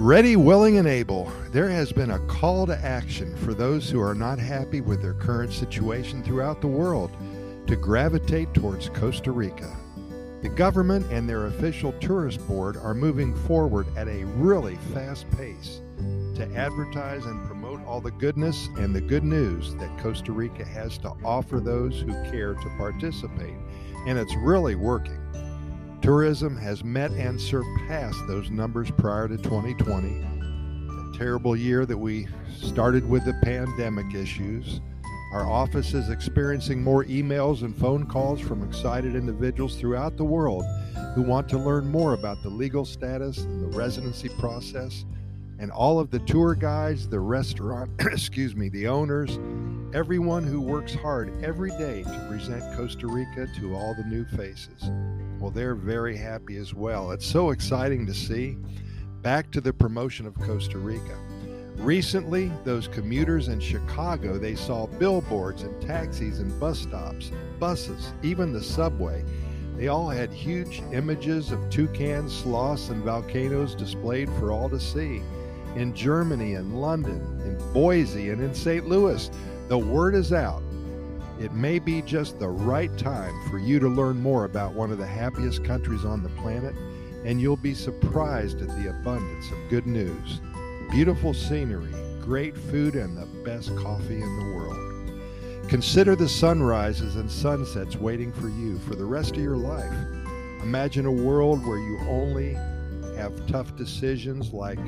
Ready, willing, and able. There has been a call to action for those who are not happy with their current situation throughout the world to gravitate towards Costa Rica. The government and their official tourist board are moving forward at a really fast pace to advertise and promote all the goodness and the good news that Costa Rica has to offer those who care to participate, and it's really working. Tourism has met and surpassed those numbers prior to 2020, a terrible year that we started with the pandemic issues. Our office is experiencing more emails and phone calls from excited individuals throughout the world who want to learn more about the legal status and the residency process, and all of the tour guides, the restaurant, the owners, everyone who works hard every day to present Costa Rica to all the new faces. Well, they're very happy as well. It's so exciting to see. Back to the promotion of Costa Rica. Recently, those commuters in Chicago, they saw billboards and taxis and bus stops, buses, even the subway. They all had huge images of toucans, sloths, and volcanoes displayed for all to see. In Germany and London, in Boise, and in St. Louis, the word is out. It may be just the right time for you to learn more about one of the happiest countries on the planet, and you'll be surprised at the abundance of good news. Beautiful scenery, great food, and the best coffee in the world. Consider the sunrises and sunsets waiting for you for the rest of your life. Imagine a world where you only have tough decisions like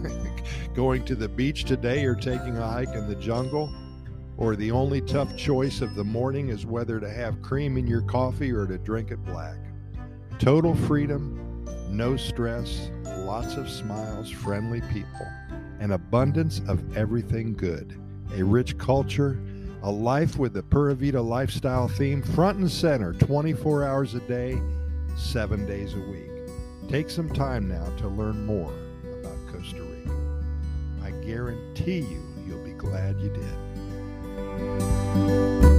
going to the beach today or taking a hike in the jungle, or the only tough choice of the morning is whether to have cream in your coffee or to drink it black. Total freedom, no stress, lots of smiles, friendly people, an abundance of everything good, a rich culture, a life with the Pura Vida lifestyle theme front and center 24 hours a day, 7 days a week. Take some time now to learn more about Costa Rica. I guarantee you'll be glad you did.